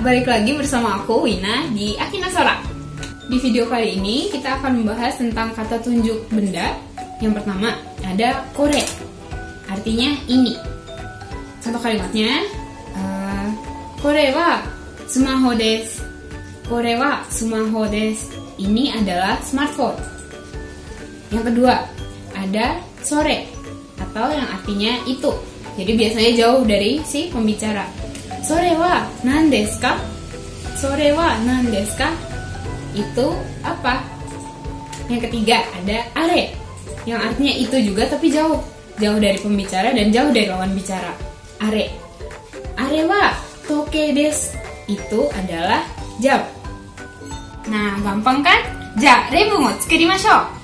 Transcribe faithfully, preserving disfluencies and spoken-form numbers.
balik lagi bersama aku Wina di Akina Sora. Di video kali ini kita akan membahas tentang kata tunjuk benda. Yang pertama ada kore, artinya ini. Contoh kalimatnya, uh, kore wa sumaho desu. Kore wa sumaho desu. Ini adalah smartphone. Yang kedua ada sore, atau yang artinya itu. Jadi biasanya jauh dari si pembicara. Sore wa nan desu ka? Sore wa nan desu ka? Itu apa? Yang ketiga ada are, yang artinya itu juga tapi jauh. Jauh dari pembicara dan jauh dari lawan bicara. Are. Are wa toke desu. Itu adalah jam. Nah, gampang kan? Ja, rebu mo tsukurimashou.